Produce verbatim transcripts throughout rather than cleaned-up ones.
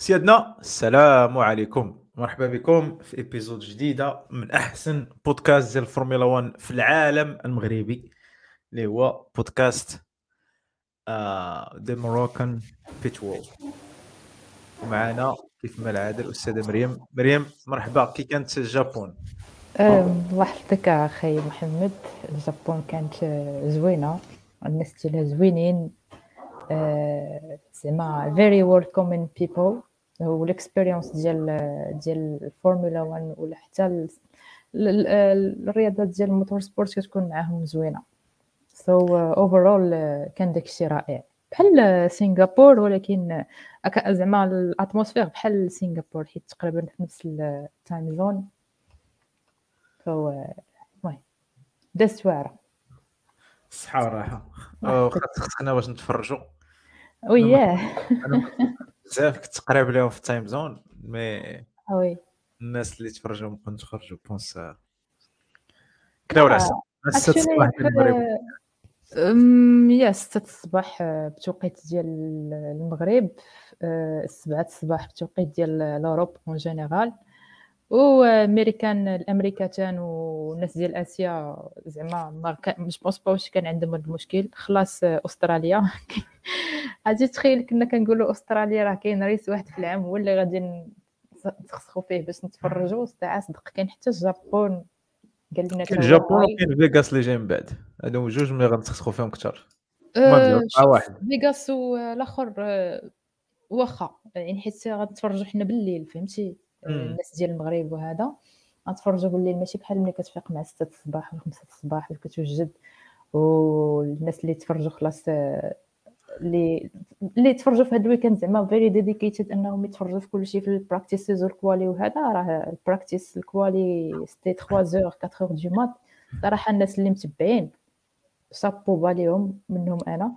سيادنا السلام عليكم، مرحبا بكم في ابيزود جديده من احسن بودكاست ديال الفورمولا واحد في العالم المغربي، اللي هو بودكاست ذا موروكان بيت وول. ومعنا كيف ما العاده الاستاذه مريم. مريم مرحبا، كي كانت الجابون؟ أم، الله يحفظك اخي محمد. الجابون كانت آه، زوينه، الناس ديالها زوينين. آه، زعما very welcoming people. والاكسبيرينس ديال ديال الفورمولا واحد ولا حتى ال- ال- ال- الرياضات ديال الموتور سبورت كتكون معاهم زوينه. سو اوفرول كان داكشي رائع بحال سنغافور، ولكن أك- زعما الاتموسفير بحال سنغافور حيت تقريبا في نفس التايم زون. فهو المهم دازت واعره. الصحه والراحه. الله أه، يحفظك. خاص خصنا باش نتفرجوا. انا ما وياه. انا ما بزاف كنت قريب لهم في التايم زون، مي وي. الناس اللي تفرجوا ما كنتش خرجوا بونس كنا ولا لا حسن السادسة اكشولي الصباح ديال المغرب. أم، يا ستة الصباح آه، بتوقيت ديال المغرب، آه، السبعة الصباح بتوقيت ديال لوروب اون جينيرال، وامريكان الامريكتان والناس ديال اسيا زعما ما كان مش بونس با واش كان عندهم هذا المشكل. خلاص آه، استراليا غادي تخيل كنا كنقولوا استراليا راه كاين ريس واحد في العام هو اللي غادي نتخسخوا فيه باش نتفرجوا ساعه صدق. كاين حتى الجابون قال لنا كاين حتى هو الجابون هاي. وكاين فيغاس اللي جاي من بعد، هادو جوج ملي غنتسخسخوا فيهم كثر. المهم أه دابا مع شوف واحد. فيغاس والاخر أه واخا يعني حيت غنتفرجوا حنا بالليل فهمتي. أه امم الناس ديال المغرب وهذا غنتفرجوا بالليل، ماشي بحال ملي كتفيق مع ستة الصباح ولا خمسة الصباح وكتوجد. والناس اللي تفرجوا خلاص آه، اللي اللي تفرجوا في هذا الويكاند زعما فيري ديديكيتد انهم يتفرجوا في كل شيء في البراكتيسز والكوالي وهذا. راه البراكتيس الكوالي سيتي ثلاثة اور أربعة اور دو مات. صراحه الناس اللي متبعين صابو باليهم منهم انا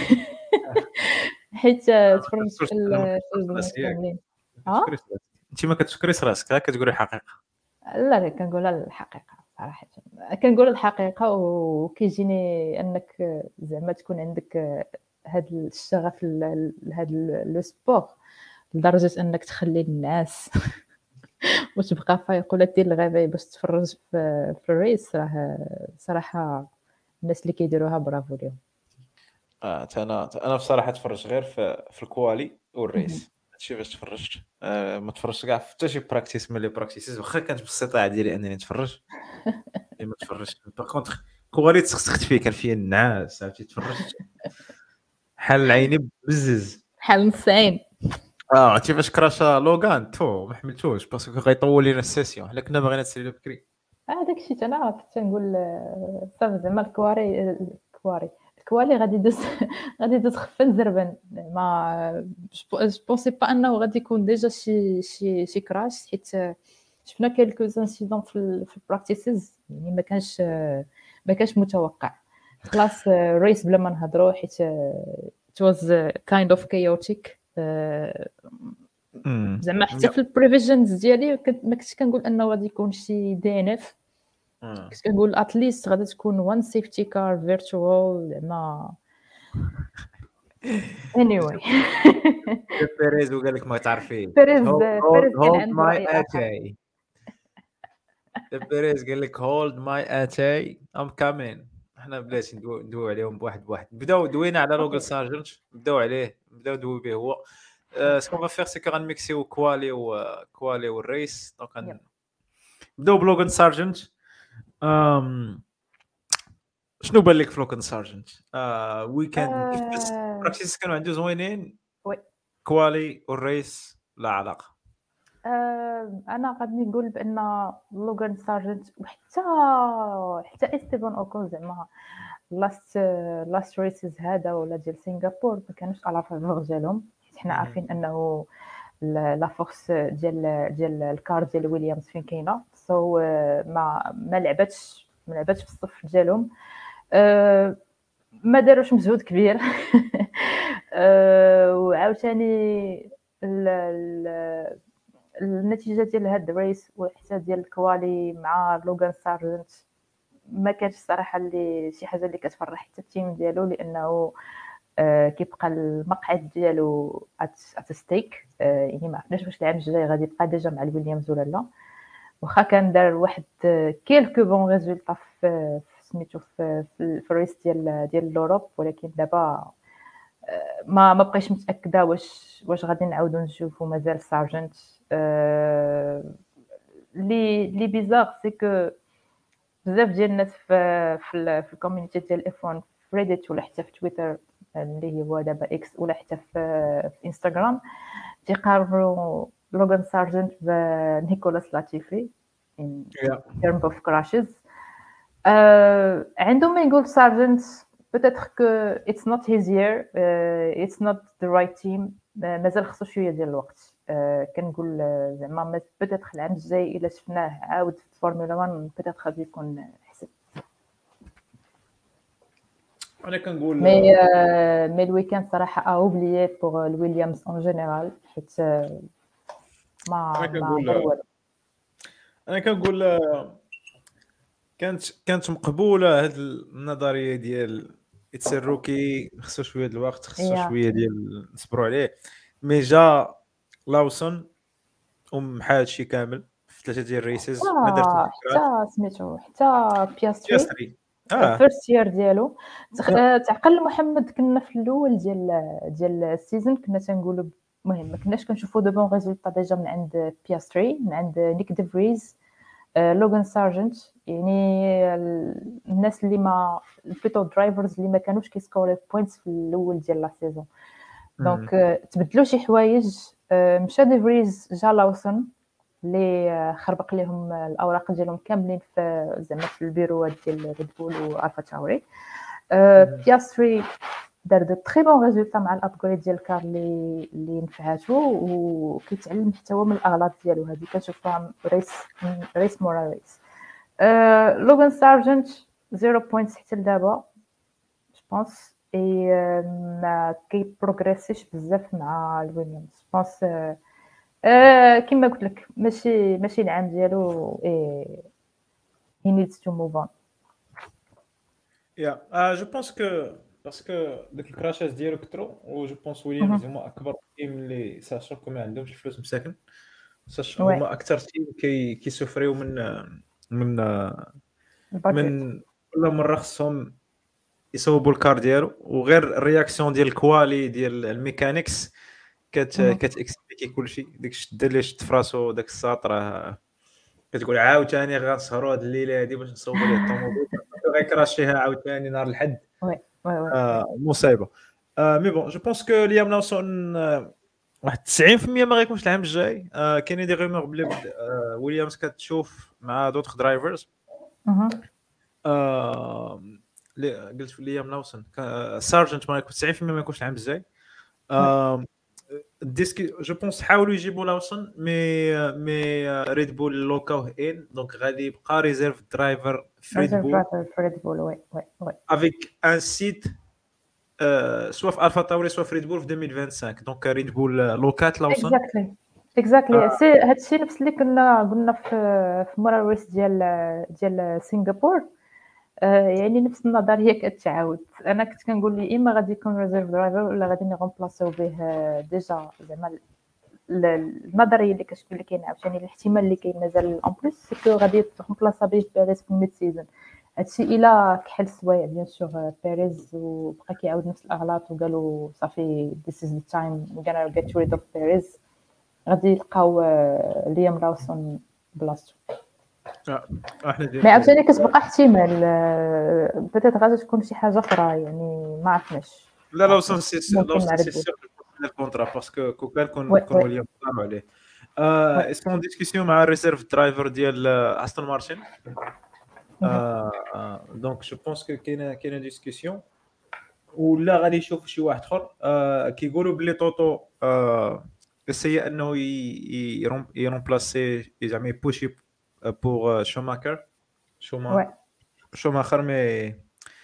حيت انا ما تفرجت كنشكرش في انا ما ال- في كنشكرش البنات راسي ياك. كاملين. ما اه كتشكريش راسك. انت ما كتشكريش راسك، ها كتقولي الحقيقه. لا لا كنقول الحقيقه صراحه. كنقول الحقيقه وكيجيني انك زعما تكون عندك هذا الشغف لهذا لو سبور لدرجه انك تخلي الناس وتبقى فايق ولا دير الغباء باش تفرج في, في الريس. راه صراحه الناس اللي كيديروها برافو ليهم. اه انا انا بصراحه تفرجت غير في, في الكوالي مهم. والريس. هادشي باش تفرجت. آه ما تفرجتش كاع في حتى شي براكتيس من لي براكتيسز، واخا كانت بالاستطاعه ديالي انني نتفرج، مي ما تفرجتش. باغ كونطخ كوالي تسخسخت فيه، كان فيه النعاس، عرفتي تفرجت حال عيني بزز. بحال نصين. اه عرفتي فاش كراشا لوغان تو ما حملتوش باسكو غيطول لينا السيسيون، حنا كنا باغيين نساليو بكري. هذاك الشيء حتى انا كنت نقول آه، صافي زعما الكواري الكواري الكوالي غادي يدوز غادي يدوز خفن زربن. ما جو بونسي با انه غادي يكون ديجا شي شي شي كراش، حيت آه، شفنا كيلكو انسيدون في ال في البراكتيسز يعني ما كانش آه، ما كانش متوقع. خلاص ريس بلا ما نهضروا حيت it was uh, kind of chaotic. آه، امم زعما حتى في البريفيجنز ديالي كنت ما كنتش كنقول انه غادي يكون شي دي ان اف. كنت كنقول اتليست غادي تكون وان سيفتي كار فيرتوال زعما anyway. بيريز وقال لك ما تعرفيه. فارس هولد هولد فارس كان هولد عنده ماي رأي آخر. اتاي. بيريز قال لك هولد ماي اتاي ام كامين. احنا بلاتي ندوي ندوي عليهم بواحد بواحد. بداو دوينا على لوغل سارجنت، بداو عليه، بداو ندوي به هو. سكون فا فيغ سي كو غنميكسيو كوالي وكوالي والريس. دونك نبداو بلوغن سارجنت. أم... شنو بان لك في لوغن سارجنت؟ آه ويكند كيفاش آه، براكتيس كانوا عنده زوينين؟ وي. كوالي والريس لا علاقه. آه، انا غادي نقول بان لوغان سارجنت وحتى حتى استيفان اوكون زعما لاست لاست ريسز هذا ولا ديال سنغافور ما كانوش على فالور ديالهم، حيت حنا عارفين انه لا فورس ديال ديال الكار ديال ويليامز فين كاينه. سو so, ما ما لعبتش ما لعبتش في الصف ديالهم. أه ما داروش مجهود كبير. أه وعاوتاني ال- ال- النتيجه ديال هاد الريس وحتى ديال الكوالي مع لوغان سارجنت ما كانش صراحه اللي شي حاجه اللي كتفرح حتى التيم ديالو، لانه آه، كيبقى المقعد ديالو ات ستيك، يعني ما عرفناش واش العام الجاي غادي يبقى ديجا مع الويليامز ولا لا. واخا كان دار واحد كيلكو بون ريزولطا في سميتو في في الريس ديال ديال لوروب، ولكن دابا ما ما بقيتش متاكده واش واش غادي نعاودو نشوفو مازال سارجنت. لي لي بيزار سي كو بزاف ديال الناس في في في الكوميونيتي ديال اف واحد في ريديت ولا حتى في تويتر اللي هو دابا اكس ولا حتى في في انستغرام تيقارنوا لوغان سارجنت بنيكولاس لاتيفي in Yeah. terms of crashes. آه عندما يقول سارجنت peut-être que it's not his year, uh, it's not the right team, مازال خصو شويه ديال الوقت. آه كنقول زعما peut-être العام الجاي الا شفناه عاود في فورمولا واحد peut-être غادي يكون احسن. انا كنقول مي آه مي الويكاند صراحه اوبليي بور الويليامز اون جينيرال، حيت آه ما انا ما كنقول دار والو. انا كنقول كانت كانت مقبوله هاد النظريه ديال اتس الروكي، خصو شويه ديال الوقت، خصو يا شويه ديال نصبروا عليه. مي جا لاوسون ومحى هادشي كامل في ثلاثه ديال الريسز، ما دار حتى تذكرات حتى سميتو حتى بياستري ياسري. اه فيرست يير ديالو. تخ- آه، تعقل محمد كنا في الاول ديال ديال السيزون كنا تنقولوا المهم ما كناش كنشوفوا دو بون ريزولطا ديجا من عند بياستري، من عند نيك ديفريز، آه، لوغان سارجنت، يعني ال- الناس اللي ما البيتو درايفرز اللي ما كانوش كيسكوري بوينتس في الاول ديال لا سيزون. دونك آه، تبدلوا شي حوايج، آه، مشى ديفريز جا لاوسون اللي خربق لهم الاوراق ديالهم كاملين في زعما في البيروات ديال ريد بول والفا تاوري. أه بياستري دار دو تري بون ريزولطا مع الابغريد ديال الكار اللي اللي نفعاتو، وكيتعلم حتى هو من الاغلاط ديالو، هذه كنشوفها ريس ريس مورا ريس. أه لوغان سارجنت زيرو بوينتس حتى لدابا جو بونس، اي ما كي بروغريسيش بزاف مع الويليامز بونس. آه كما قلت لك ماشي ماشي العام ديالو، اي he needs to move on. يا اه جو بونس كو باسكو داك الكراشات ديالو كثروا، و جو بونس ويليامز مهم. هما اكبر تيم اللي ساشو كو ما عندهمش الفلوس مساكن، ساش ouais هما اكثر تيم كي كيسوفريو من من البادجيت. من كل مره خصهم يصوبوا الكار ديالو، وغير الرياكسيون ديال الكوالي ديال الميكانيكس كت مهم. كتاكسبليكي كلشي. ديك الشده اللي شت في راسو داك الساط راه كتقول عاوتاني غنسهروا هاد الليله هادي باش نصوبوا ليه الطوموبيل، غيكراشيها عاوتاني نهار الحد. ouais ouais ouais آه مصيبه. آه مي بون جو بونس كو ليام ناوسون آه واحد تسعين في المية ما غيكونش العام الجاي. آه كاينين دي غيمور بلي بد- آه ويليامز كتشوف مع دوطخ درايفرز. مهم. آه لي قلت في ليام ناوسون كا- سارجنت ما يكون تسعين في المية ما يكونش العام الجاي. ouais آه ديسكي جو بونس حاولوا يجيبوا لاوسون، مي مي ريد بول لوكاوه ان، دونك غادي يبقى ريزيرف درايفر في ريد reserve بول driver for Red Bull. ouais ouais ouais افيك ان سيت سوا في الفا تاوري سوا في ريد بول في ألفين وخمسة وعشرين. دونك ريد بول لوكات لاوسون. exactly exactly سي هادشي نفس اللي كنا قلنا في في مورا ريس ديال ديال سنغافور. آه يعني نفس النظريه كتعاود. انا كنت كنقول لي اما غادي يكون ريزيرف درايفر ولا غادي نغومبلاسيو به آه، ديجا زعما ال- النظريه اللي كتقول اللي كاين عاوتاني الاحتمال اللي كاين مازال اون بليس سي كو غادي تغومبلاسا به بيريز في الميد سيزون. هادشي الا كحل سوايع بيان سور بيريز وبقى كيعاود نفس الاغلاط وقالوا صافي this is the time we're gonna get rid of بيريز، غادي يلقاو آه، ليام لاوسون بلاصتو. آه، احنا مي ديال عاوتاني كتبقى احتمال آه، بيتيت غادي تكون شي حاجه اخرى، يعني ما عرفناش لا ما لاوسون عرفناش سي ممكن مع لاوسون سي ريد بول. سيغ الكونترا، باسكو كو كان كون وي كون وي ويليام طلعوا عليه. وي اسكون ديسكسيون مع الريزيرف درايفر ديال استون مارتن. مهم. دونك جو بونس كو كاينه كاينه ديسكسيون، ولا غادي يشوف شي واحد اخر. آه كيقولوا بلي طوطو آه essayait انه يرومبلاسي زعما يبوشي بور شوماكر شوما وي شوماخر. مي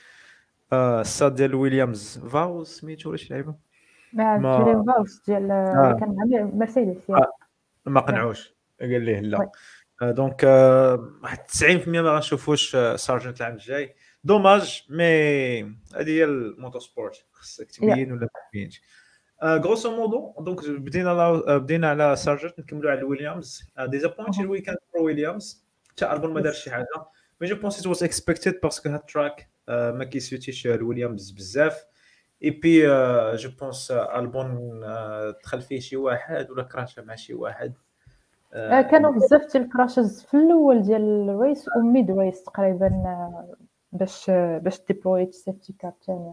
آه الساد ديال ويليامز فاو سميتو ولا شي لعيبه مع ما جيرين فاوس ديال اللي آه كان مع مير- مرسيدس. يا آه، ما يا قنعوش، قال ليه وي لا. آه دونك آه، واحد تسعين في المية ما غنشوفوش آه، سارجنت العام الجاي. دوماج مي هذه هي الموتور سبورت، خصك يا تبين ولا ما تبينش. غروسو مودو دونك بدينا على بدينا على سارجنت، نكملوا على ويليامز. ديزابوينتد ويكاند برو ويليامز، حتى البون ما دارش شي يس حاجه، مي جو بونس ات واز اكسبكتد باسكو هاد تراك ما كيسوتيش الويليامز بزاف. اي بي جو بونس البون دخل فيه شي واحد ولا كراشا مع شي واحد. آه، كانوا بزاف ديال الكراشز في الاول ديال الريس وميد ريس تقريبا، آه، باش آه، باش ديبلويت سيفتي كار ثانيه.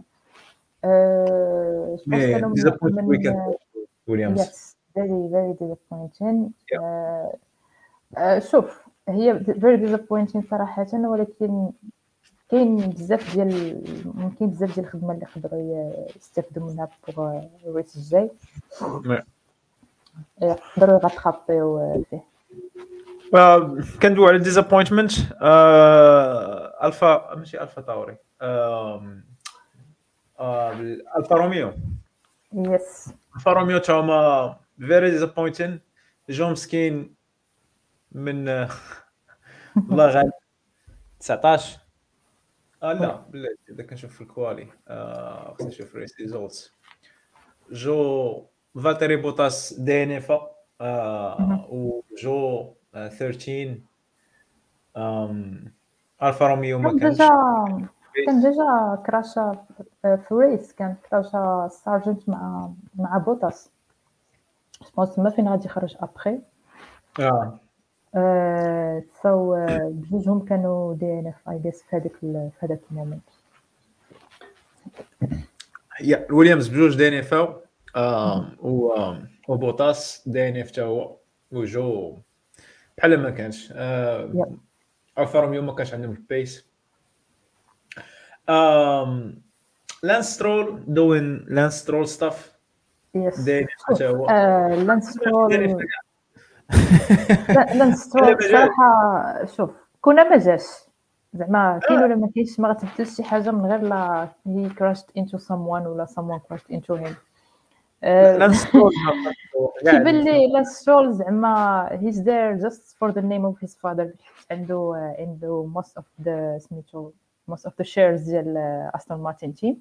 أه بونس مي كانوا من ديزابوينتد ويكاند من ويليامز. يس فيري فيري ديسابوينتين. شوف هي فيري ديسابوينتين صراحه، ولكن كاين بزاف ديال ممكن بزاف ديال الخدمه اللي يقدروا يستافدوا منها بوغ الريس الجاي، يقدروا يغطخابيو فيه. كندوي على ديزابوينتمنت الفا ماشي الفا تاوري، الفا روميو. يس الفا روميو تا هما فيري ديزابوينتين، جو مسكين من والله غالب تسعطاش. اه لا بلاتي اذا كنشوف في الكوالي آه خصني نشوف ريس ريزولتس. جو فالتيري بوتاس دي ان اف آه وجو آه ثلاثة عشر. ام الفا روميو ما كان كانش ديجا كان ديجا كراشا في ريس، كان كراشا سارجنت مع مع بوتاس، جوبونس ما فين غادي يخرج ابخي. اه أه سو بجوجهم كانوا دي ان اف اي جيس في هذاك في هذاك المومنت. هي ويليامز بجوج دي ان اف اه و وبوتاس دي ان اف تا هو، وجو بحال ما كانش. آه يا الفا روميو ما كانش عندهم البيس. آم لانس سترول دوين لانس سترول ستاف يس دي ان اف تا شوف هو أه لانس دي ان اف. سترول. لا لانس سترول صراحه شوف كنا ما جاش زعما كاين ولا ما كاينش، ما غتبدلش شي حاجه من غير لا هي crashed into someone ولا someone crashed into him. أه لانس سترول كيبان لي لا سترول زعما he's there just for the name of his father. عنده عنده most of the سميتو most of the shares ديال استون مارتين تيم.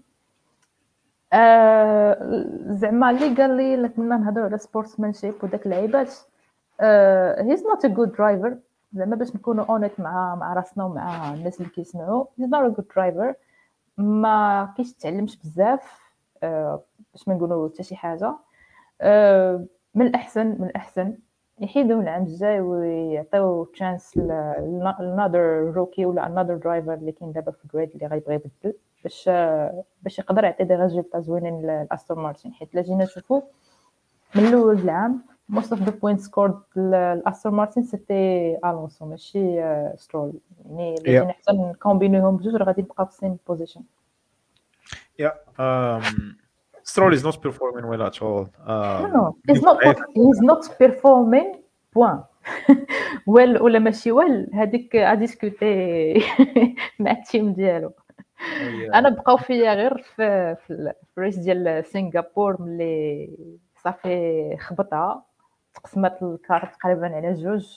آه زعما اللي قال لي كنا نهضروا على سبورتسمانشيب وداك اللعيبات. آه he's not a good driver، زعما باش نكونوا اونيت مع مع راسنا ومع الناس اللي كيسمعوا he's not a good driver. ما كيش تعلمش بزاف، آه باش ما نقولوا حتى شي حاجه. آه من الاحسن من الاحسن يحيدوا العام الجاي ويعطيو تشانس لنادر روكي ولا انذر درايفر اللي كاين دابا في الجريد اللي غيبغي يبدل باش باش يقدر يعطي دي ريزولتا زوينين لاستون مارتين. حيت لا جينا نشوفوا من الاول العام most of the points scored لاستون مارتين سيتي الونسو ماشي سترول. يعني لا جينا حتى نكومبينيهم بجوج راه غادي نبقاو في سيم بوزيشن. Yeah, um, Stroll is not performing well at all. Um, no he's not he's not performing point. ويل ولا ماشي ويل هذيك اديسكوتي مع التيم ديالو. انا بقاو فيا غير في في الريس ديال سنغافور ملي صافي خبطها تقسمت الكارت تقريبا على جوج.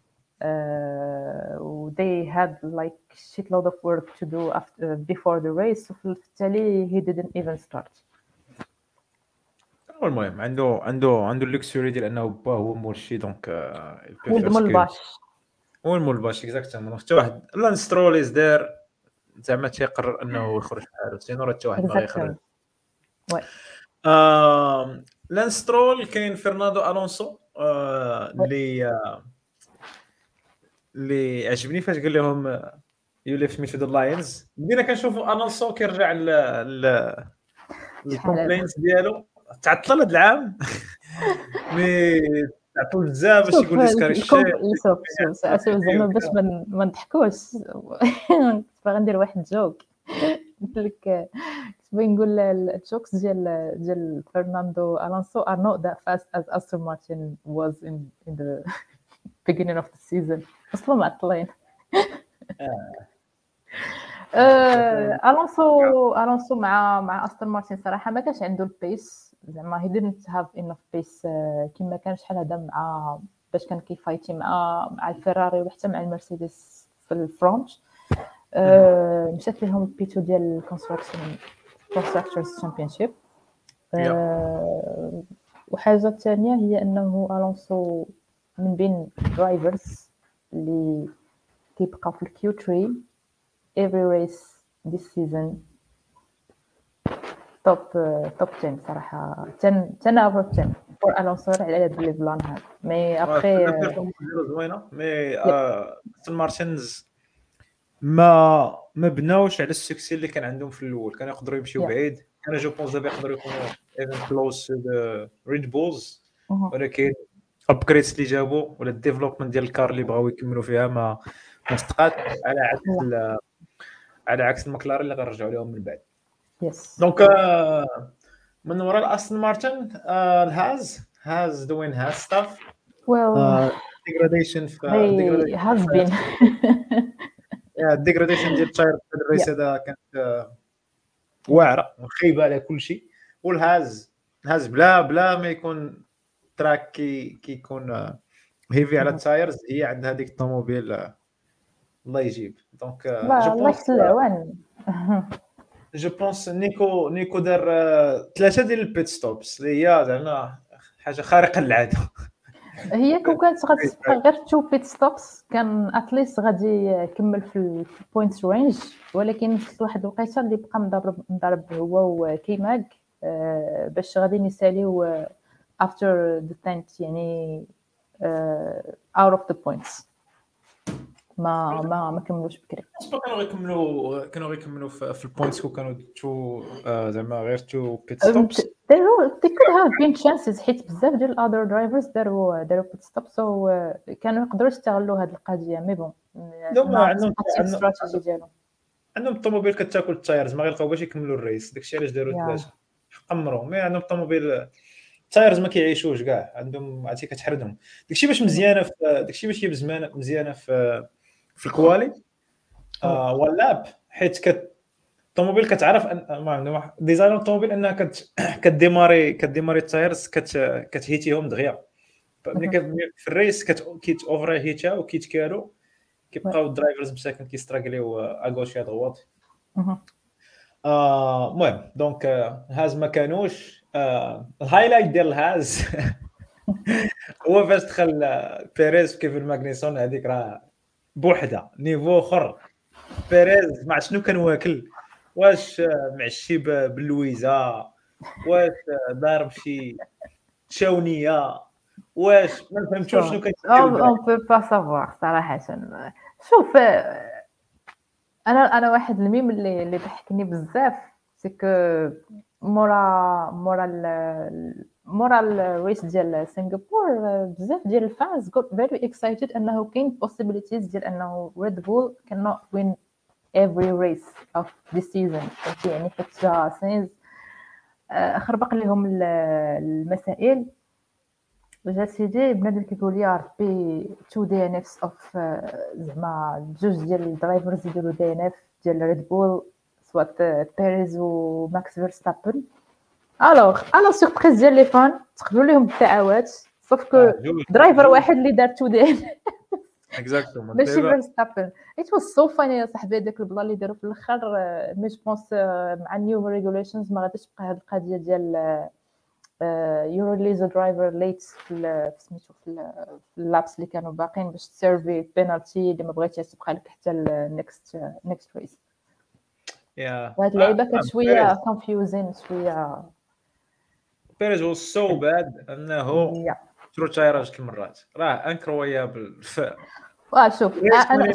و they had like shitload of work to do after before the race وفي التالي he didn't even start. المهم عنده عنده عنده اللوكسوري ديال انه با هو مرشي دونك ولد ملباش هو الملباش اكزاكتومون. حتى واحد لانس سترول از دير زعما تيقرر انه يخرج بحالو سينو راه حتى واحد ما غيخرج. وي آه لانس سترول كاين فرناندو الونسو اللي آه اللي عجبني فاش قال لهم يو ليفت مي تو ذا لاينز. بدينا كنشوفوا الونسو كيرجع ل الكومبلينز ديالو تعطل هذا العام مي تعطل بزاف باش يقول لي الكوم شوف شوف زعما باش ما نضحكوش باغي ندير واحد جوك. قلت لك كنت باغي نقول الجوكس ديال ديال فرناندو الونسو are not that fast as Aston Martin was in in the beginning of the season. اصلا معطلين. الونسو الونسو مع مع استون مارتين صراحه ما كانش عنده البيس، زعما he didn't have enough pace كما كان شحال هذا مع باش كان كيفايتي مع مع الفيراري وحتى مع المرسيدس في الفرونت. آه، مشات لهم البيتو ديال الكونستراكشن كونستراكتورز تشامبيونشيب. وحاجه ثانيه هي انه الونسو من بين درايفرز اللي كيبقاو في الكيو ثلاثة every race this season توب توب عشرة صراحه عشرة عشرة اوفر عشرة فور الونسو على هاد لي بلان هاد مي ابخي زوينه. مي استون مارتنز ما ما بناوش على السكسي اللي كان عندهم في الاول. كانوا يقدروا يمشيو Yeah. بعيد. انا جو بونس دابا يقدروا يكونوا ايفن كلوز ريد بولز، ولكن ابجريدز اللي جابوا ولا الديفلوبمنت ديال الكار اللي بغاو يكملوا فيها ما ما استقات على عكس ال- على عكس المكلارين اللي غنرجعوا لهم من بعد. يس دونك آه، من وراء الاستون مارتن آه، الهاز هاز دوين هاز ستاف well ديجراديشن في they has been الديجراديشن ديال التاير في الريس هذا كانت آه، واعره وخايبه على كل شيء. والهاز الهاز بلا بلا ما يكون تراك كي كيكون آه، هيفي على التايرز، هي عندها هذيك الطوموبيل آه، الله يجيب. دونك آه، لا جو الله بونس يحسن العوان. جو بونس نيكو نيكو دار آه، ثلاثه ديال البيت ستوبس اللي هي زعما حاجه خارقه للعاده. هي كون كانت غتبقى غير تو بيت ستوبس كان اتليست غادي يكمل في البوينت رينج، ولكن وصلت لواحد الوقيته اللي بقى مضرب مضرب هو وكيماغ آه، باش غادي يساليو افتر ذا تنت يعني اوت اوف ذا بوينتس ما ما ما كملوش بكري. اسبا كانوا غيكملوا كانوا غيكملوا في, في البوينتس كو كانوا تو آه زعما غير تو بيت ستوبس. there could have been chances حيت بزاف ديال الاذر درايفرز داروا داروا بيت ستوبس وكانوا يقدروا يستغلوا هذه القضيه. مي بون عندهم عندهم استراتيجي ديالهم عندهم الطوموبيل كتاكل التايرز ما غيلقاو باش يكملوا الريس. داكشي علاش داروا ثلاثه قمروا. مي عندهم الطوموبيل التايرز ما كيعيشوش كاع، عندهم عرفتي كتحردهم. داكشي باش مزيانه في داكشي باش هي مزيانه مزيانه في في الكوالي آه واللاب، حيت كت الطوموبيل كتعرف ان ما عندهم واحد ديزاين الطوموبيل انها كت كديماري كديماري التايرز كت كتهيتيهم دغيا. ملي في الريس كت كيت اوفر هيتا وكيتكالو كيبقاو الدرايفرز مساكن كيستراغليو اغوش يا دغوات. اه المهم دونك هاز ما كانوش آه الهايلايت ديال الهاز هو فاش دخل بيريز كيف الماغنيسون هذيك راه بوحده نيفو اخر. بيريز مع شنو كان واكل، واش معشي باللويزه، واش ضارب شي شاونيه، واش ما فهمتوش شنو كيدير. اون بو با سافوار صراحه. شوف انا انا واحد الميم اللي اللي ضحكني بزاف سي كو مورا مورا مورا الريس ديال سنغافور بزاف ديال الفانز got very excited انه كاين possibilities ديال انه Red Bull cannot win every race of this season. يعني حتى جا سينز خربق لهم المسائل وجا سيدي بنادم كيقول لي ربي تو دي ان اف اوف زعما جوج ديال الدرايفرز يديروا دي ان اف ديال ريد بول سوات بيريز وماكس فيرستابن. الوغ انا سوربريز ديال لي فان تقبلوا لهم الدعوات صوف كو درايفر واحد اللي دار تو دي اكزاكتومون ماشي فيرستابن. ات واز سو فاني يا صاحبي هذاك البلا اللي داروا في الاخر. مي جو بونس مع النيو ريغوليشنز ما غاديش تبقى هذه القضيه ديال يو ريليز درايفر ليت في سميتو في اللابس اللي كانوا باقين باش تسيرفي بينالتي اللي ما بغيتيش تبقى لك حتى النكست نكست ريس. يا هاد اللعيبه كانت شويه كونفيوزين شويه. بيريز هو سو باد انه ترو تايراج المرات راه انكرويابل. واه شوف انا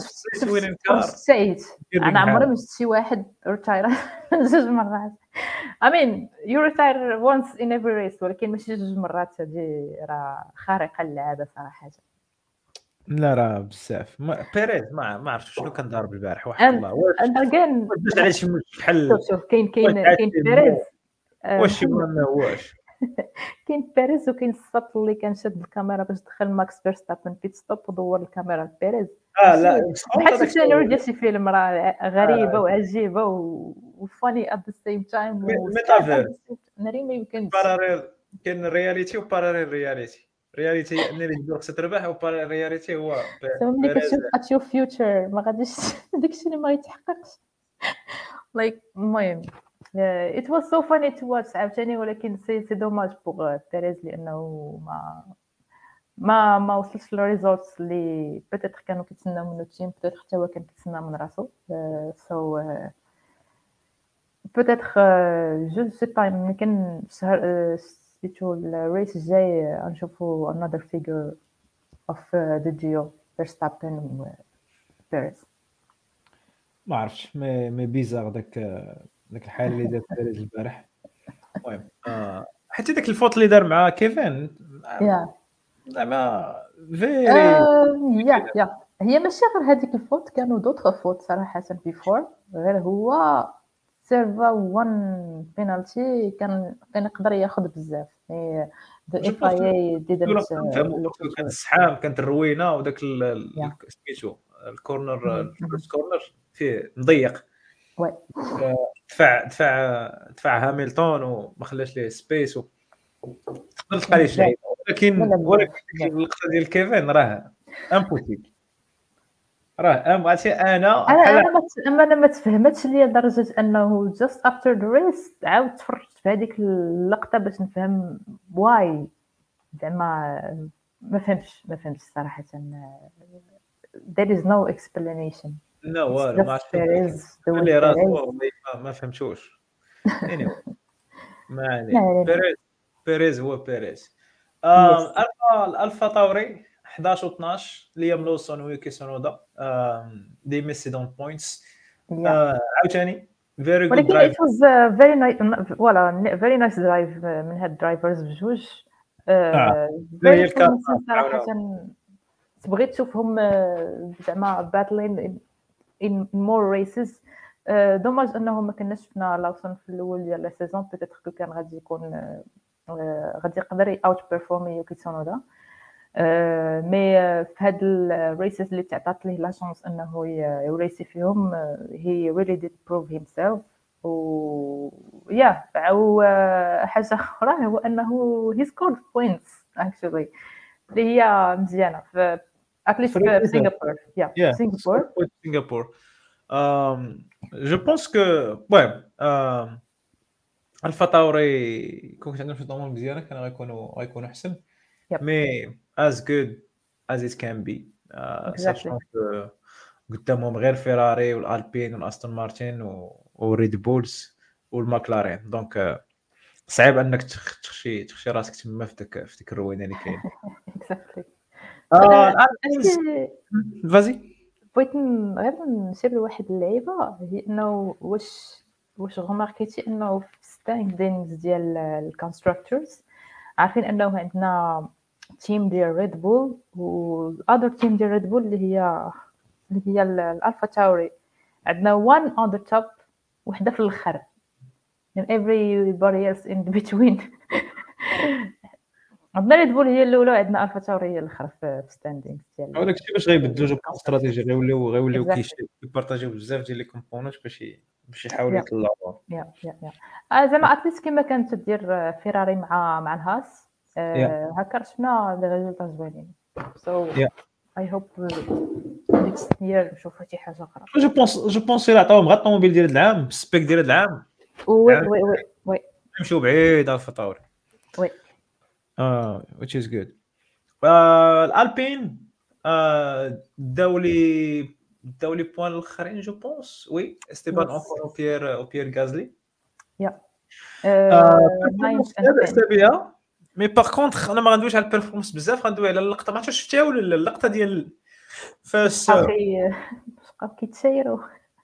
شفت انا عمري ما شفت شي واحد ريتاير جوج مرات. I mean you retire once in every race ولكن ماشي جوج مرات. هادي راه خارقه للعاده صراحه. لا راه بزاف بيريز ما ما عرفتش شنو كان ضارب البارح واحد الله. واش كان واش على شي بحال شوف كاين كاين كاين بيريز واش ما هواش كاين بيريز وكاين السط اللي كان شاد الكاميرا باش دخل ماكس فيرستابن بيت ستوب ودور الكاميرا لبيريز. اه لا بحال السيناريو ديال شي فيلم راه غريبه وعجيبه وفاني ات ذا سيم تايم. ميتافير ناري ما يمكن باراليل كاين الرياليتي وباراليل رياليتي. رياليتي انني ندير خصها تربح، و رياليتي هو ب- سما ملي بيريز. كتشوف at your future ما غاديش داكشي اللي ما يتحققش. like المهم uh, it was so funny to watch عاوتاني، ولكن سي سي دوماج بوغ بيريز لانه ما ما ما وصلش للريزولتس اللي بيتيتر كانوا كيتسناو منو التيم، بيتيتر حتى هو كان كيتسنى من راسو. سو بيتيتر جو سي با يمكن الشهر سيتو الريس الجاي غنشوفو another figure of uh, the duo Verstappen و بيريز. ما عرفتش، مي مي بيزار داك داك الحاله اللي دار بيريز البارح. المهم آه حتى داك الفوت اللي دار مع كيفن يا زعما فيري. يا يا هي ماشي غير هذيك الفوت، كانوا دوطخ فوت صراحه بيفور، غير هو سيرفا وان بينالتي كان كان يقدر ياخذ بزاف. مي ذا اف اي اي ديدنت كان السحام، كانت الروينه، وداك ال- يا. سميتو الكورنر، مم. الفيرست كورنر فيه مضيق، وي دفع دفع دفع هاميلتون وما خلاش ليه سبيس، و تقدر تلقى ليه شي لعيبه، ولكن لا لا ولكن بزاف ديك بزاف. اللقطه ديال كيفن راه امبوسيبل، راه ام عرفتي انا انا بحال انا ما ت- اما انا ما تفهمتش ليا لدرجه انه just after the race عاود تفرجت في هذيك اللقطه باش نفهم واي، زعما ما فهمتش ما فهمتش صراحه. there is no explanation. لا It's والو، ما just عرفتش Perez doing اللي راسو Perez. ما, ما فهمتوش. anyway ما ما علينا، علينا. بيريز بيريز هو بيريز. Yes. آم، الفا الالفا طوري احداش و اثناش، ليام لوسون ويوكي سونودا، آم، دي ميسي دون بوينتس. Yeah. عاوتاني فيري جود ولكن درايف. it was uh, very nice فوالا very nice drive uh, من هاد الدرايفرز بجوج. اه uh, هي very الكارت promising صراحة. تبغي تشوفهم uh, زعما battling in, in more races. uh, دوماج انه ما كناش شفنا لوسون في الاول ديال لا سيزون، بيتيتر كو كان غادي يكون uh, uh, غادي يقدر اوت بيرفورمي يوكي سونودا. آه، مي آه، في هاد الريسز اللي تعطات ليه لا شانس انه ي- يريسي فيهم، هي really did prove himself. و يا او آه، حاجه اخرى هو انه he scored points actually اللي هي مزيانه في اتليست في سنغافور. يا Yeah, سنغافور. Singapore, Singapore. Um, je pense que ouais, um, الفا طوري كون كنت عندهم شي ضمور مزيانه كانوا غيكونوا غيكونوا احسن، يب مي as good as it can be. uh, exactly. sachant que قدامهم غير فيراري والالبين والاستون مارتين و- والريد بولز والماكلارين، دونك آه، صعيب انك تخ- تخشي تخشي راسك تما في ديك في ديك الروينه اللي كاين. exactly. اه آه، الالبينز أشي فازي. بغيت ن- غير نشير لواحد اللعيبه، هي انه واش واش غماركيتي انه في ستاندينغز ديال الكونستراكتورز عارفين انه عندنا تيم ديال ريد بول والاذر تيم ديال ريد بول اللي هي اللي هي ال- الالفا تاوري، عندنا one on the top وحده في الاخر and everybody else in between. عندنا ريد بول هي الاولى وعندنا الفا تاوري هي الاخرى في ستاندينغز ديال هذاك الشيء باش غيبدلوا جو استراتيجي، غيوليو غيوليو exactly. كيشي- كيبارطاجيو بزاف ديال لي كومبوننت باش ي- باش يحاولوا Yeah. يطلعوها. يا يا يا آه، زعما اتليست كما كانت تدير فيراري مع مع الهاس، آه، هكا شفنا لي ريزولتا زوينين. سو Yeah. اي هوب نيكست يير نشوفوا شي حاجه اخرى. جو بونس جو بونس الى عطاوهم غير الطوموبيل ديال هاد العام بالسبيك ديال هاد العام وي يعني وي وي وي نمشيو بعيد على الفطاوري. وي اه which is good. آه الالبين آه داو لي داو لي بوان الاخرين جو بونس وي استيبان Yes. اونكور وبيير وبيير غازلي. يا آه ناين performance لاباس بها، مي باغ كونطخ انا ما غندويش على البيرفورمانس بزاف، غندوي على اللقطه، ما عرفتش واش شفتيها ولا لا، اللقطه ديال فاش اخي بقاو كيتشايروا.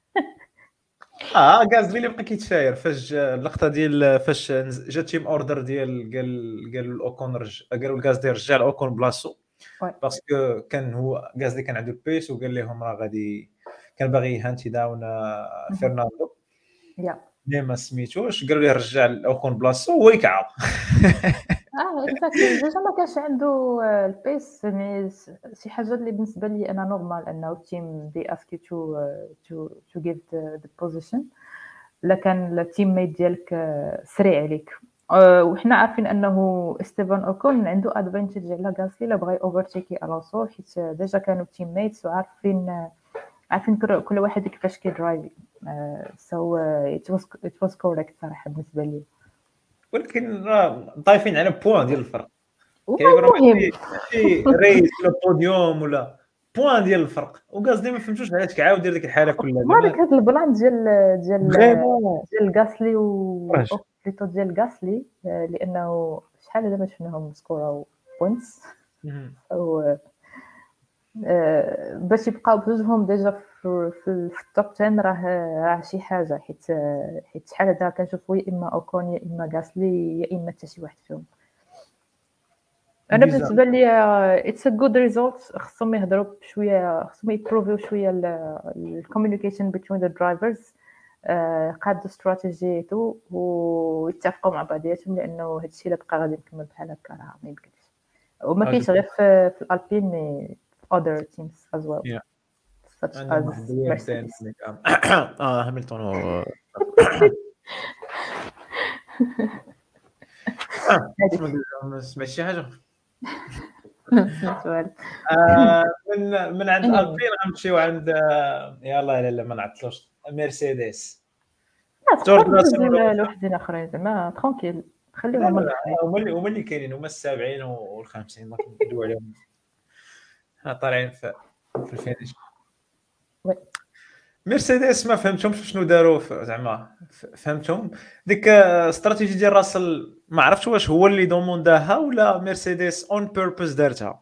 اه غازلي اللي بقى كيتشاير فاش جا اللقطه ديال فاش جا تيم اوردر ديال قال قالوا الاوكون رجع، قالوا الغازلي رجع الاوكون بلاصتو وي باسكو كان هو غازلي كان عنده البيس وقال لهم راه غادي كان باغي يهانتي داون آه، فرناندو يا اللي ما سميتوش، قالوا ليه رجع الاوكون بلاصتو هو يكعب. اه اكزاكتلي. ديجا ما كانش عنده آه، البيس، يعني س- شي حاجه اللي بالنسبه لي انا نورمال انه التيم دي اسكي تو تو تو جيف ذا بوزيشن. لا كان التيم ميت ديالك آه، سريع عليك آآ وحنا عارفين أنه إستيفان أوكون عنده advantage على غاسلي إلا بغا overtake ألونسو، حيت ديجا كانوا teammates وعارفين عارفين كل كل واحد كيفاش كيدرايفي. آآ so it was it was correct صراحة بالنسبة ليا. ولكن راه ضايفين على بوان ديال الفرق. كيبان راه والمهم ماشي ماشي ريس ولا بوديوم ولا بوان ديال الفرق، وغازلي ما فهمتوش علاش كيعاود يدير ديك الحاله كلها مالك زعما هاد البلان ديال ديال فريمون ديال غاسلي و كراش. أو بليتو ديال غاسلي، آآ لأنه شحال دابا شفناهم سكوراو points اهم. و آآ باش يبقاو بجوجهم ديجا في في في الtop عشرة راه راه شي حاجة، حيت حيت شحال هذا كنشوفوا يا إما أوكون يا إما غاسلي يا إما حتى شي واحد فيهم. أنا بيزار. بالنسبة ليا it's a good result. خصهم يهضروا بشوية، خصهم يبروفيو شوية ال الcommunication between the drivers. آآ قادوا استراتيجيتو ويتفقوا مع بعضياتهم، لأنه هاد الشيء إلا بقى غادي نكمل بحال هكا راه ما يمكنش. وما غادي كاينش غير في في الألبين مي في other teams as well يا such عندهم as واحد الوردان Mercedes. هناك. اه هاملتون و اه هاديك اسمع ما سمعت شي حاجه. سمعت والو. آه من من عند anyway البين غنمشيو عند آه، يلاه لا لا ما نعطلوش مرسيدس. لا جورج تقدر راسل تدوز ولا لوحدين آخرين زعما tranquille، لا خليهم لا هما لا الأخرين. هما اللي هما اللي كاينين، هما السابعين والخامسين ما كندويو عليهم. حنا طالعين في في الفينيش. وي مرسيدس ما فهمتهمش شنو داروا ف- زعما ف- فهمتهم ديك آه، استراتيجي ديال راسل، ما عرفتش واش هو اللي دومونداها ولا مرسيدس اون بيربوز دارتها.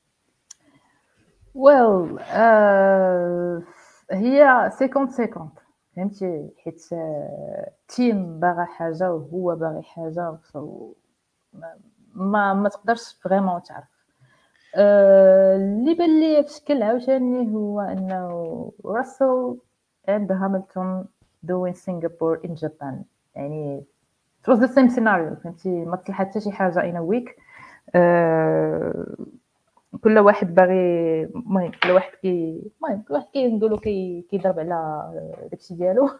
well آآ هي خمسين خمسين فهمتي، حيت الteam باغا حاجة وهو باغي حاجة so ما ما ما تقدرش فريمون تعرف. آآ اللي بان ليا بشكل عاوتاني هو أنه راسل and هاملتون doing Singapore in Japan، يعني it was the same scenario فهمتي، ما طلع حتى شي حاجة in a week. آآ كل واحد باغي المهم كل واحد كي المهم كل واحد كنقولوا كي كيضرب على داكشي ديالو.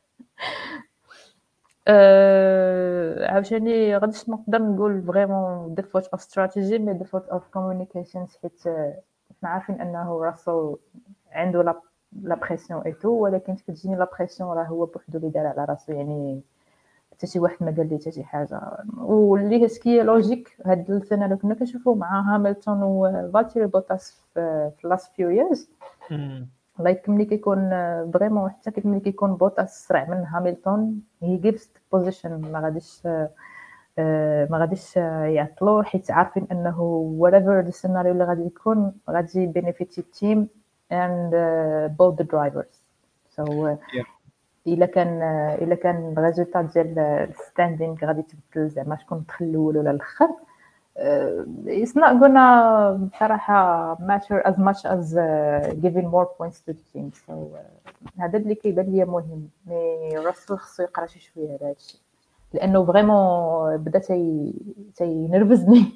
آآ عاوتاني غاديش نقدر نقول فريمون default of strategy مي default of communications، حيت حنا عارفين أنه راسل عنده لا لا بريسيون et tout، ولكن كتجيني لا بريسيون راه هو بوحدو اللي دار على راسو، يعني حتى شي واحد ما قال ليه حتى شي حاجة. واللي سكي لوجيك هاد السيناريو كنا كنشوفوه مع هاملتون وفالتيري بوتاس في في last few years. لايك ملي كيكون فريمون حتى كي ملي كيكون بوتاس سرع من هاملتون هي جيفز بوزيشن، ما غاديش آه، ما غاديش يعطلو، حيت عارفين انه whatever the scenario اللي غادي يكون غادي benefit التيم and uh, both the drivers. so uh, الا كان الا كان الريزولتا ديال الستاندينغ غادي تبدل زعما شكون دخل الاول ولا الاخر، it's not gonna بصراحه matter as much as uh, giving more points to the team. so uh, هذا اللي كيبان ليا مهم، مي راسل خصو يقرا شي شويه على هذا الشيء، لانه فريمون بدا تي تينرفزني.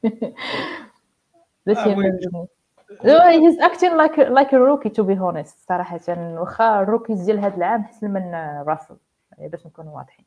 بدا تينرفزني. he's acting like like a rookie to be honest صراحه، واخا الروكيز ديال هذا العام احسن من راسل يعني باش نكونوا واضحين.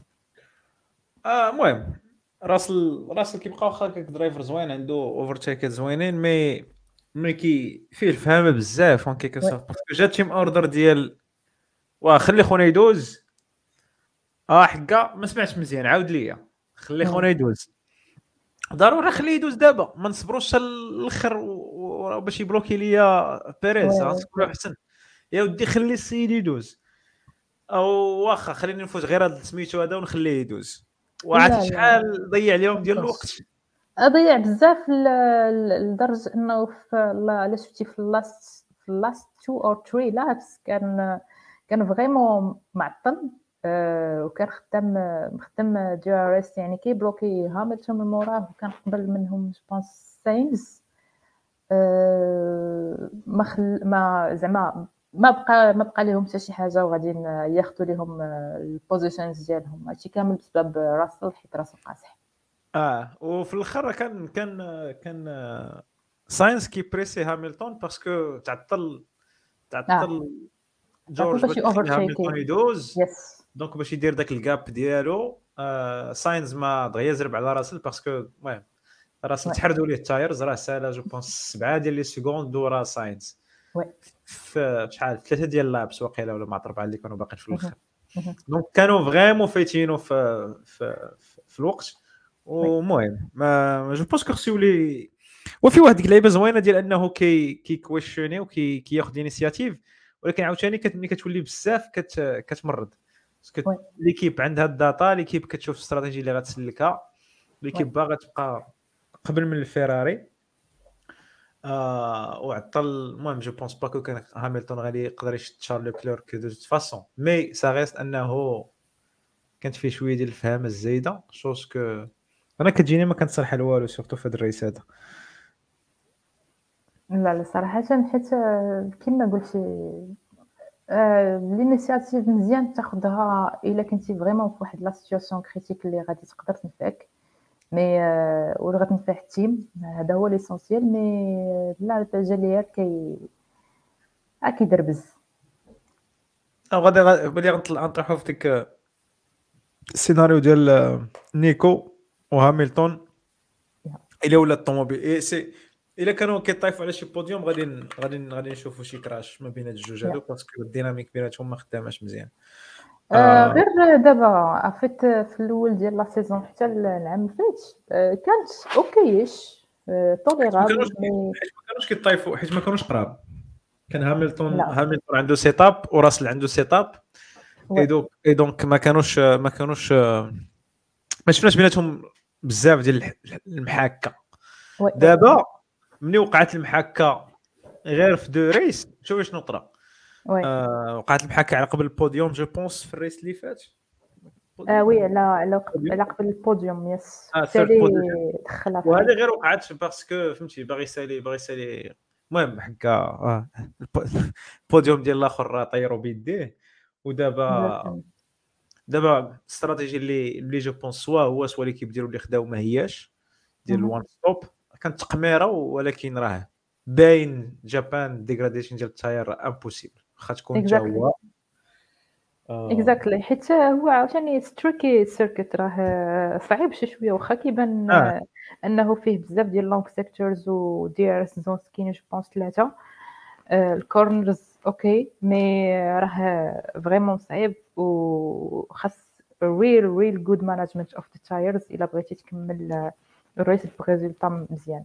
اه المهم راسل راسل كيبقى واخا درايفر زوين عنده اوفرتيكات زوينين، مي ملي كي فيه الفهامه بزاف اون كيكو سورت، باسكو جا تيم اوردر ديال واه خلي خونا يدوز. اه حكا ما سمعتش مزيان، عاود ليا خلي خونا يدوز. ضروري خليه يدوز دابا، ما نصبروش حتى الاخر باش يبلوكي ليا بيريز. غتكون احسن يا ودي خلي السيد يدوز، او واخا خليني نفوت غير هذا سميتو هذا ونخليه يدوز. وعرفتي شحال ضيع اليوم ديال الوقت، ضيع بزاف لدرجه انه الا شفتي في اللاست في اللاست تو اور ثري لابس كان كان فريمون معطل. أه وكان خدام مخدم دي ار اس، يعني كي بلوكي هاملتون من موراه، وكان قبل منهم جوبونس ساينز. أه ما خل ما زعما ما بقى ما بقى لهم حتى شي حاجه، وغادي ياخذوا لهم البوزيشنز ديالهم. هادشي كامل بسبب راسل، حيت راسل قاصح. اه وفي الاخر كان كان كان ساينس كي بريسي هاملتون باسكو تعطل تعطل آه. جورج باش يخلي هاملتون يدوز، يس دونك باش يدير داك الكاب ديالو. ساينز ما دغيا يزرب على راسل باسكو المهم راسل Ouais. تحردوا ليه التايرز راه سالا جو بونس سبعه ديال لي سكوند دورا ساينز Ouais. في شحال ثلاثه ديال اللابس واقيلا ولا مع اربعه اللي كانوا باقيين في الاخر Mhm. دونك كانوا فريمون فايتينو في في في الوقت ومهم ما جو بونس كو خصو يولي وفي واحد اللعيبه زوينه ديال انه كي كي كويشني وكي كياخذ انيسياتيف ولكن عاوتاني كتملي كتولي بزاف كت كتمرض باسكو Ouais. ليكيب عندها الداتا ليكيب كتشوف الاستراتيجي اللي غتسلكها ليكيب باغا تبقى قبل من الفيراري آه وعطل المهم جو بونس با كو كان هامilton غادي يقدر يشد شارل كليرك دو فاسون مي سا ريست انه كانت فيه شويه ديال الفهامه الزايده شوز كو انا كتجيني ما كنتصالح على والو سورتو في هذا الريس هذا لا لا صراحة حيت آه، كيما قلتي آه، الانيشياتيف مزيان تاخدها الا كنتي فريمون في واحد لا سيتوياسيون كريتيك اللي غادي تقدر تنفعك مي آه، ولا غتنفع التيم هذا هو ليسونسيال مي لا التجليات كي آه، كيدربز او غادي غادي غنطلع نطرحوا في ديك السيناريو ديال آه، نيكو وهامilton الا ولا الطوموبيل إيه سي الا كانوا كيطيفوا على شي بوديوم غادي ن- غادي ن- غادي نشوفوا شي كراش ما بين هاد الجوج هادو باسكو الديناميك بيناتهم ما خداماش مزيان آه، آه غير دابا عرفت في الاول ديال لا سيزون حتى العام اللي فات آه، كانت اوكيش ما توليرابل كانوش مي حيت ما كانوش كيطيفوا حيت ما كانوش قراب كان هامilton لا هامilton عنده سيت اب وراسل عنده سيت اب اي وي دونك اي دونك ما كانوش ما كانوش ما شفناش بيناتهم بزاف ديال الح- المحاكه وي دابا ملي وقعت المحاكه غير في دو ريس شوف شنو طرا وي آه وقعت المحاكه على قبل البوديوم جو بونس في الريس اللي فات آه البوديوم وي ولا على على قب- البوديوم على قبل البوديوم يس اه حتى ثيرد لي بوزيشن دخلها في وهذه الريس غير وقعت باسكو فهمتي باغي يسالي باغي يسالي المهم حكا آه الب- البوديوم ديال الاخر راه طيروا بيديه ودابا Exactement. دابا الاستراتيجي اللي اللي جو بونس سوا هو سوا اللي كيديروا اللي خداو ما هياش ديال Mhm. الوان ستوب كانت تقميره ولكن راه باين جابان ديغراديشن ديال التاير امبوسيبل واخا تكون حتى Exactly. هو آه Exactly. حيت هو عاوتاني ستريكي سيركت راه صعيب شي شويه واخا كيبان اه آه، انه فيه بزاف ديال لونغ سيكتورز و دي ار اس زونز كاين جو بونس ثلاثه الكورنرز اوكي مي راه فريمون صعيب وخاص real real good management of the tires الا بغيتي تكمل آه، الريس بريزولطا مزيان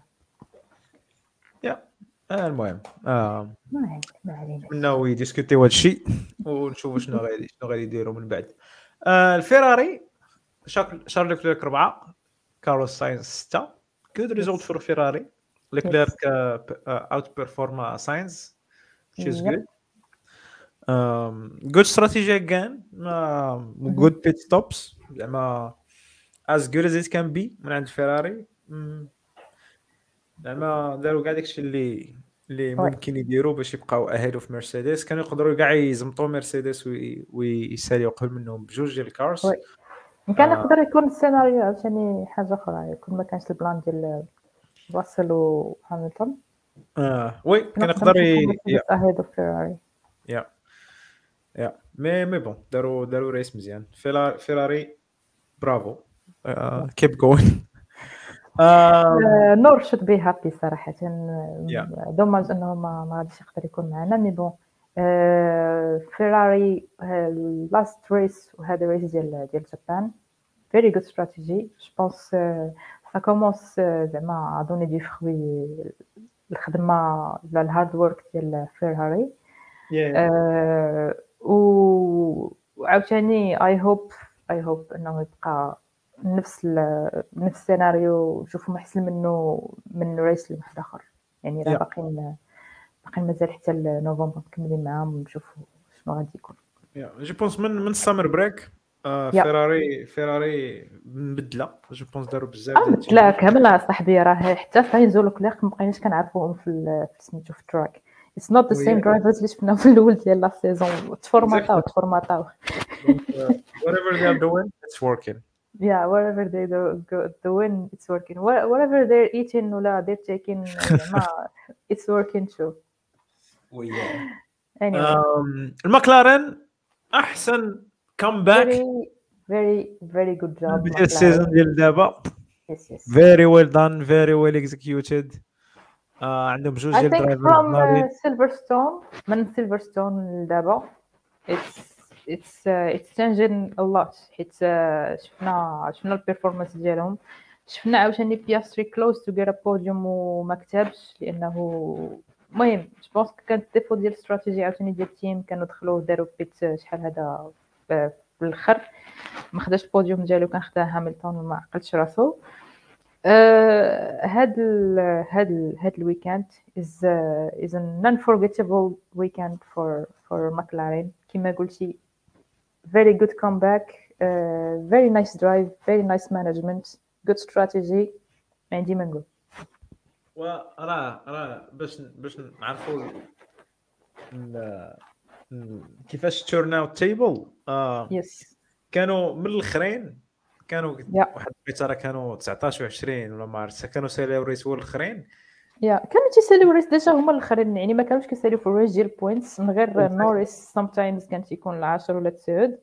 يا آه المهم آه ما علينا ما علينا ناوي ديسكوتيو هذا الشيء ونشوفوا شنو غادي شنو غادي يديروا من بعد آه الفيراري شارل شارل كليرك أربعة كارلوس ساينز ستة good result Yes. for فيراري لكليرك اوت بيرفورما ساينز which is Yep. good um, good strategy again uh, good pit stops زعما as good as it can be من عند فيراري mm, زعما داروا كاع داكشي اللي اللي Ouais. ممكن يديروا باش يبقاو اهيد في مرسيدس كانوا يقدروا كاع يزمطوا مرسيدس وي- ويساليو قبل منهم بجوج ديال الكارز Ouais. كان آه يقدر يكون السيناريو عاوتاني حاجه اخرى يكون ما كانش البلان ديال راسل وهامilton آه وي كنا كان نقدر يقدر نشوفو ي... يا مرسيدس اهيد اوف فيراري يا يا مي مي بون داروا داروا ريس مزيان فيراري فيراري برافو كيب جوين نور شود بي هابي صراحه يا دوماج انه ما ما غاديش يقدر يكون معنا مي بون فيراري لاست ريس وهذا ريس ديال ديال جابان فيري جود استراتيجي جو بونس سا كومونس زعما ادوني دي فروي الخدمه ولا الهارد ورك ديال فيراري آه، و وعاوتاني اي هوب اي هوب انه يبقى نفس ال- نفس السيناريو نشوفو احسن منه من ريس لواحد اخر يعني راه يا باقيين باقيين مازال حتى لنوفمبر مكملين معاهم ونشوفو شنو غادي يكون يا جو بونس من من السامر بريك يا فيراري فيراري مبدله جو بونس داروا بزاف ديال لا التشينج كامل صاحبي راه حتى ساينز ولوكلير ما بقيناش كنعرفوهم في ال- في سميتو في التراك اتس نوت ذا سيم درايفرز اللي شفنا في الاول ديال لا سيزون تفورماتاو تفورماتاو Donc, uh, whatever they are doing, it's working. yeah wherever they do go doing it's working Wha- whatever they're eating ولا they're taking زعما it's working too وياه anyway um, المكلارن احسن كومباك very very very good job ديال السيزون McLaren. ديال دابا yes yes very well done very well executed. آه عندهم بجوج I ديال think الدرايفرز from uh, ناضين. Silverstone من Silverstone لدابا it's it's uh, it's changing a lot حيت uh, شفنا شفنا البيرفورمانس ديالهم شفنا عاوتاني بياستري close to get a podium وما كتبش لانه المهم جو بونس كانت ديفو ديال الاستراتيجي عاوتاني ديال التيم كانوا دخلوا داروا بيت شحال هذا في الاخر ما خداش البوديوم ديالو كان خداه هاملتون وما عقلتش راسو. هاد ال هاد ال هاد الويكاند is uh, is an unforgettable weekend for for McLaren كما قلتي very good comeback uh, very nice drive very nice management good strategy ما عندي ما نقول. وراه راه باش باش نعرفوا كيفاش تورن اوت تيبل اه yes كانوا من الاخرين كانوا yeah. واحد البيتاره كانوا تسعطاش و20 ولا ما عرفتش كانوا ساليو الريس هو الاخرين يا كانوا تيساليو الريس ديجا هما الاخرين يعني ما كانوش كيساليو في الريس ديال البوينتس من غير نوريس sometimes كان تيكون العاشر ولا التسعود.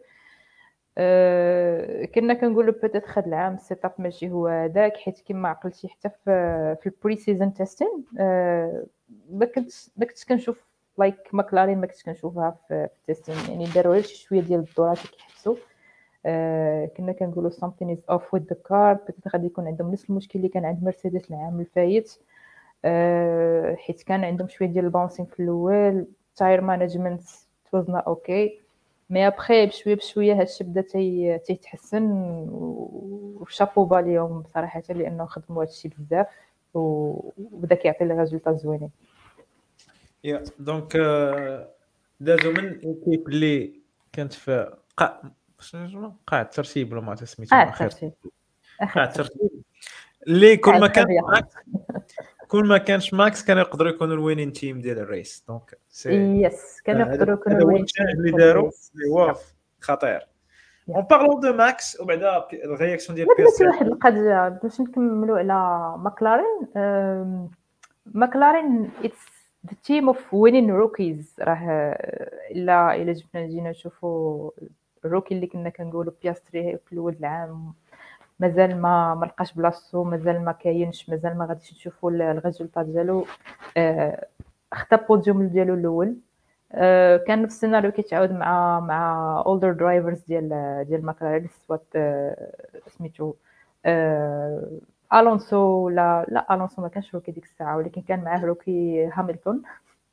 أه كنا كنقولوا بيتيت خد العام السيت اب ماشي هو هذاك حيت كما عقلتي حتى في في البري سيزون تيستين أه ما كنت ما كنتش كنشوف لايك ماكلارين ما كنتش كنشوفها في التيستين يعني داروا غير شي شويه ديال الدورات كيحسوا أه كنا كنقولوا something is off with the car بيتيت غادي يكون عندهم نفس المشكل اللي كان عند مرسيدس العام الفايت أه حيت كان عندهم شويه ديال الباونسينغ في الاول تاير مانجمنت توزنا اوكي مي ابخي بشويه بشويه هادشي بدا تي تيتحسن وشابو با ليهم بصراحه لانه خدموا هادشي بزاف وبدا كيعطي لي ريزولطا زوينين. يا دونك دازو من ايكيب اللي كانت في قاع شنو قاع الترتيب ولا ما تسميتو اه اخر الترتيب قاع الترتيب اللي كل ما كان التربية. ماكس كل ما كانش ماكس كانوا يقدروا يكونوا الوينين تيم ديال الريس دونك سي يس كانوا يقدروا يكونوا هذا هو الوين التشانج تيم اللي في داروا الريس. اللي هو خطير. اون بارلون دو ماكس وبعدا الرياكسيون ديال بغيت بيرسي واحد القضيه باش نكملوا على ماكلارين. أم، ماكلارين اتس the team of winning rookies راه الا الا جبنا جينا نشوفوا الروكي اللي كنا كنقولوا بياستري في الاول العام مازال ما ما لقاش بلاصتو مازال ما كاينش مازال ما غاديش نشوفوا الريزولطا ديالو. أه خدا بوديوم ديالو الاول. أه كان نفس السيناريو كيتعاود مع مع اولدر درايفرز ديال ديال ماكلارين سوات أه سميتو أه الونسو لا لا الونسو ما كانش روكي ديك الساعه ولكن كان معاه روكي هاملتون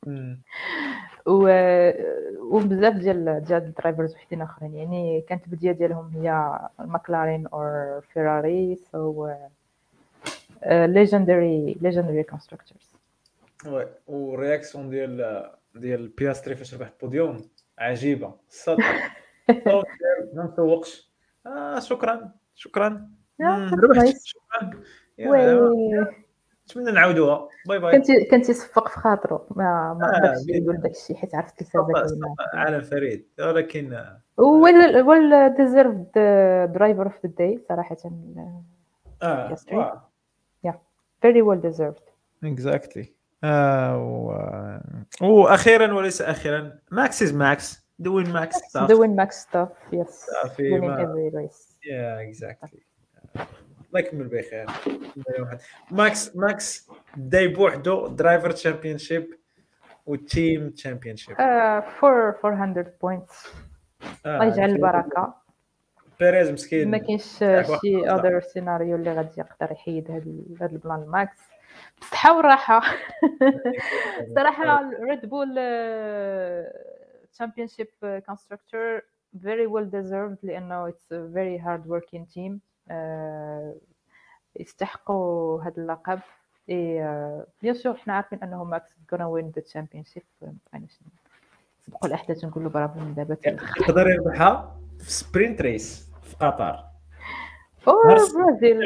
و وبزاف ديال ديال الدرايفرز وحدين اخرين يعني كانت البدايه ديالهم هي ماكلارين او فيراري سو ليجندري ليجندري كونستراكتورز. وي والرياكسيون ديال ديال بياستري فاش ربح البوديوم عجيبه الصوت الصوت ما مسوقش اه شكرا شكرا ربحت شكرا نتمنى نعاودوها باي باي. كنت كنت يصفق في خاطرو ما ما قدرش يقول داكشي حيت عرفت التلفازه كاينه عالم فريد ولكن ويل ويل ديزيرفد درايفر اوف ذا داي صراحه. اه يا فيري ويل ديزيرفد اكزاكتلي. واخيرا وليس اخيرا ماكس از ماكس دوين ماكس ستاف دوين ماكس ستاف يس في winning every race. يا اكزاكتلي الله يكمل بخير. ماكس ماكس داي بوحدو درايفر تشامبيونشيب وتيم تشامبيونشيب فور أربعمية بوينتس الله يجعل البركه. بيريز مسكين ما كاينش شي اذر سيناريو اللي غادي يقدر يحيد هذا هذا البلان ماكس بالصحه والراحه. صراحه ريد بول تشامبيونشيب كونستراكتور very well deserved لانه it's a very hard working team. يستحقوا هذا اللقب. اي بيان سور حنا عارفين انه ماكس gonna win the championship. مابقيناش نسبقوا الاحداث ونقولوا برافو من دابا حتى الاخر. يقدر يربحها في سبرينت ريس في قطر او برازيل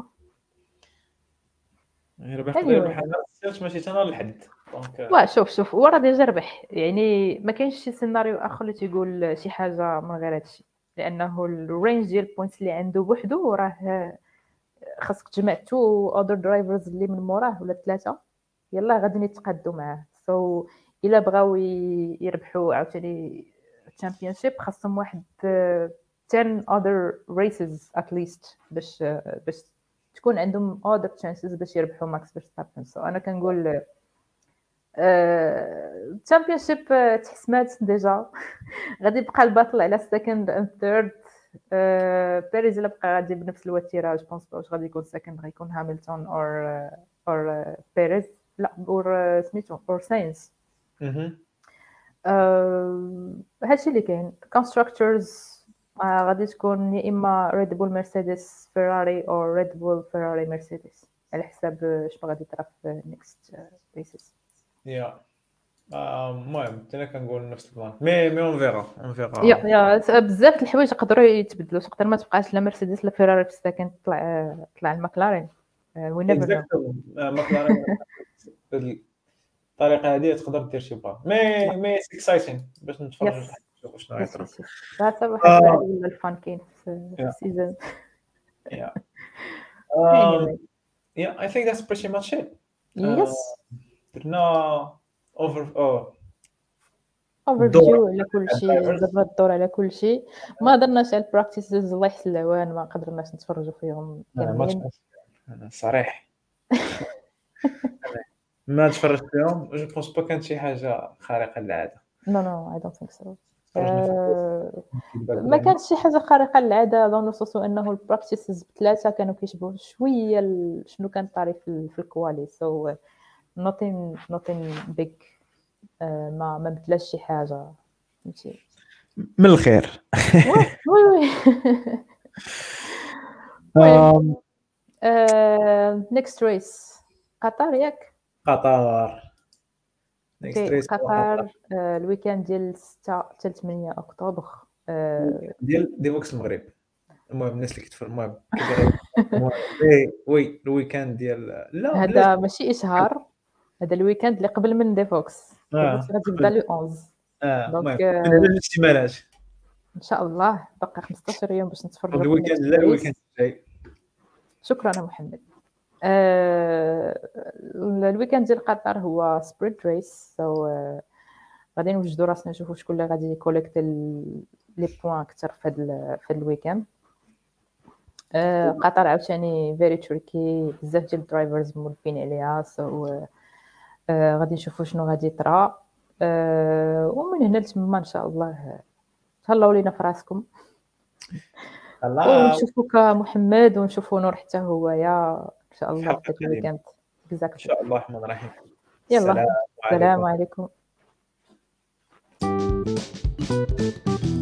يربح يربح ماشي حتى نهار الحد. وا شوف شوف هو راه ديجا ربح يعني ما كاينش شي سيناريو اخر اللي تيقول شي حاجه من غير هادشي لانه الرينج ديال البوينتس اللي عنده بوحدو راه خاصك تجمع تو اذر درايفرز اللي من موراه ولا ثلاثه يلا غادي يتقادوا معاه. سو so, الا بغاو يربحوا عاوتاني الشامبيونشيب خاصهم واحد ten other races at least باش باش تكون عندهم other chances باش يربحوا ماكس فيرستابن. سو انا كنقول تشامبيونشيب تحسمات ديجا. غادي يبقى الباطل على سكند اند ثيرد. بيريز الا بقى غادي بنفس الوتيره جو بونس با واش غادي يكون سكند، غيكون هامilton اور اور بيريز لا اور سميتو اور ساينس. اها أه هادشي اللي كاين. كونستراكتورز آه غادي تكون يا اما ريد بول مرسيدس فيراري او ريد بول فيراري مرسيدس على حساب شنو غادي يطرا في نيكست ريسز. يا المهم حتى انا كنقول نفس البلان مي مي اون فيرا اون فيرا يا يا بزاف د الحوايج يقدروا يتبدلوا. تقدر ما تبقاش لا مرسيدس لا فيراري في السكن، طلع طلع المكلارين. وي نيفر نو. اكزاكتومون ماكلارين الطريقه هذه تقدر دير شي بلان مي مي اكسايتين باش نتفرج يس نشوف شنو يس غيطرا. يس هذا واحد آه. العادي ولا الفان كاين في Yeah. السيزون. Yeah. Anyway. Um, yeah, I think that's pretty much it. يس درنا over oh اوفر الدور فيو على كل على شيء. الدرايفرز. درنا الدور على كل شيء. ما درناش على البراكتيسز الله يحسن العوان، ما قدرناش نتفرجوا فيهم انا ما كاملين. تفرجت انا صريح أنا ما تفرجت فيهم. جو بونس با كانت شي حاجه خارقه للعاده. نو نو اي دونت ثينك سو. تفرجنا في ما كانش شي حاجه خارقه للعاده ظن نصوص انه البراكتيسز بثلاثه كانوا كيشبهوا شويه ال- شنو كان طاري في, في الكوالي. سو nothing nothing big. آه، ما ما بدلاش شي حاجه فهمتي. من الخير. وي وي Um, نيكست ريس قطر ياك. قطر next اوكي race قطر آه، الويكاند ديال ستة حتى ثمانية اكتوبر. آه، ديال ديفوكس المغرب. المهم الناس اللي كتفرج المهم كيبغي المهم إيه، وي الويكاند ديال لا بلاش هذا ماشي اشهار، هذا الويكاند اللي قبل من ديفوكس. آه، ديفوكس غادي يبدا لو احد. اه دونك المهم آه، من هنا الاحتمالات ان شاء الله بقى خمسطاش يوم باش نتفرجوا في الويكاند النكست لا ريس. الويكاند الجاي. شكرا يا محمد. آه، الويكاند ديال قطر هو سبرينت ريس. سو غادي نوجدوا راسنا نشوفوا شكون اللي غادي يكوليكت لي بوين اكثر في هذا في هذا الويكاند. آه، قطر عاوتاني فيري تريكي، بزاف ديال الدرايفرز مولفين عليها. سو آه، غادي نشوفوا شنو غادي يطرا. آه، ومن هنا لتما ان شاء الله تهلاو لينا في راسكم الله ونشوفوك محمد ونشوفوا نور حتى هو يا ان شاء الله الحلقة في القادمة. الويكاند. ان جزاك شاء الله الرحمن الرحيم. يلا السلام السلام عليكم. عليكم.